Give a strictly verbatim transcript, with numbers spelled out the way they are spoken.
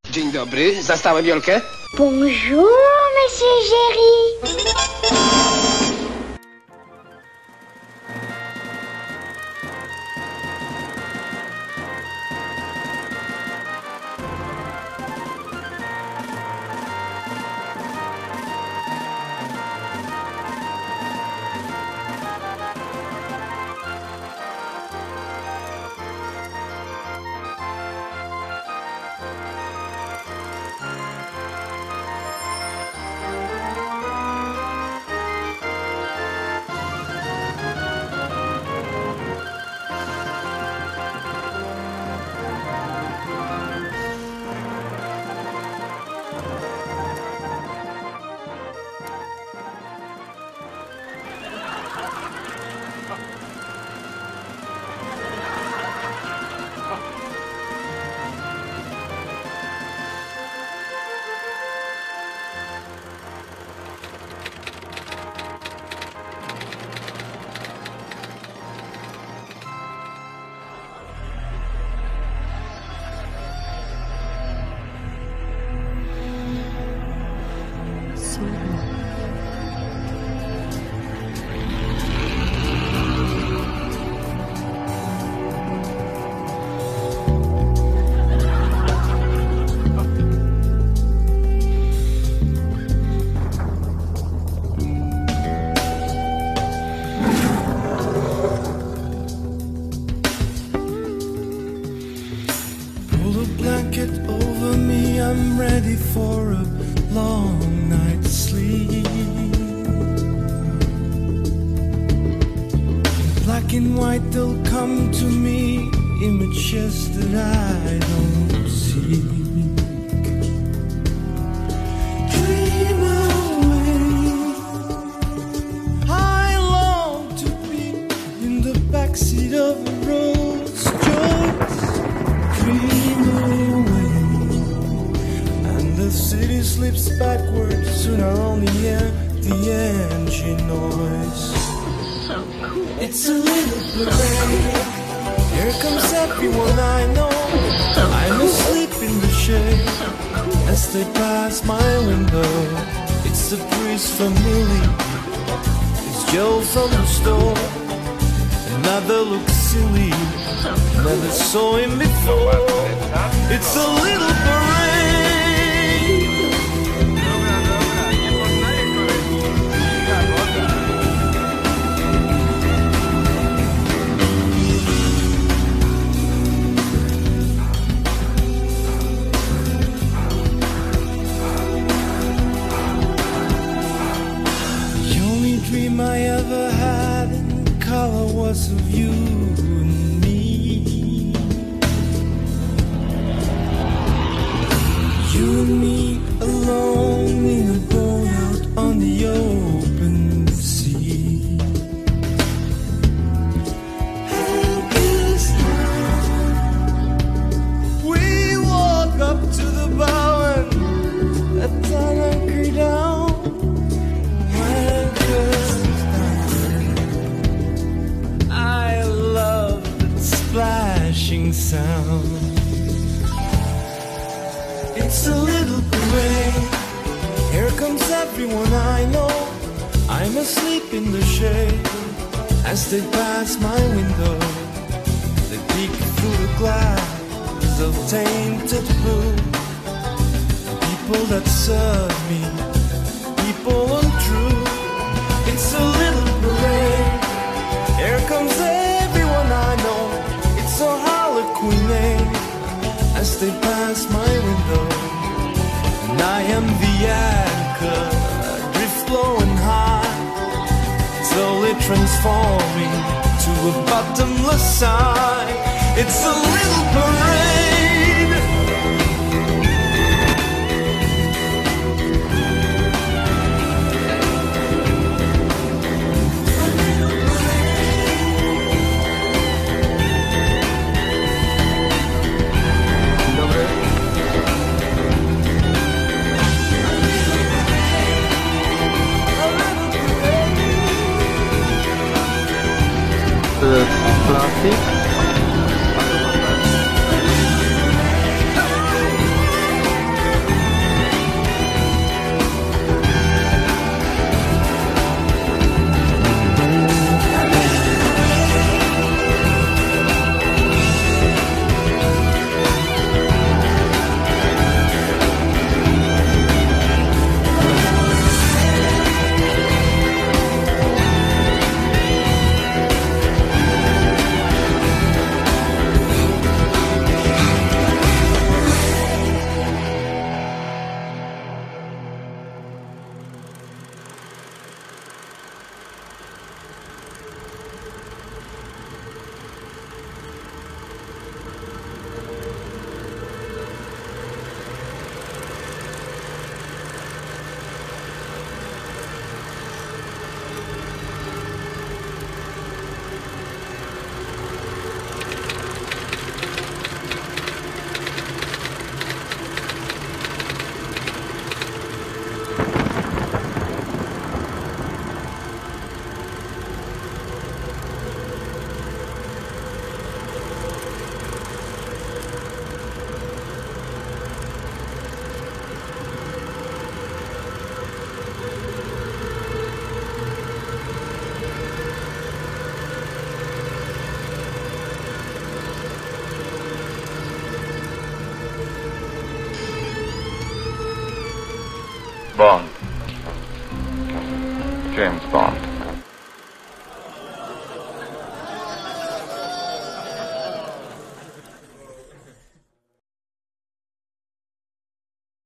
Dzień dobry, zastałem Jolkę? Bonjour, monsieur Jerry. I'm ready for a long night's sleep. In black and white they'll come to me, images that I don't see. Dream away. I long to be in the backseat of a Rolls Royce. Dream away. The city slips backwards, soon I'll only hear the engine noise. So cool. It's a little parade. Here comes everyone I know. So I'm cool. asleep in the shade. So cool. As they pass my window, it's the breeze from Millie. It's Joe from the store. Another looks silly. So cool. Never saw him before. It's a little parade. Dream I ever had in color was of you and me. You and me alone in a boat out on the open sea. We walk up to the bow and let down anchor down. I love that splashing sound. It's a little parade. Here comes everyone I know. I'm asleep in the shade. As they pass my window, they peek through the glass of tainted blue. People that serve me, people untrue. It's a little parade. Here comes everyone I know. It's a harlequin name. As they pass my window, and I am the anchor, drift low and high, slowly transforming to a bottomless sigh. It's a little parade. Plastik. James Bond.